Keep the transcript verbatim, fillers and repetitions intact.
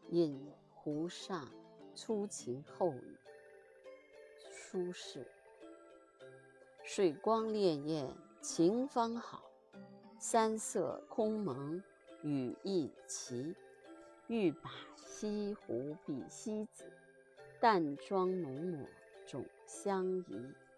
饮湖上初晴后雨。苏轼。水光潋滟晴方好，山色空蒙雨亦奇。欲把西湖比西子，淡妆浓抹总相宜。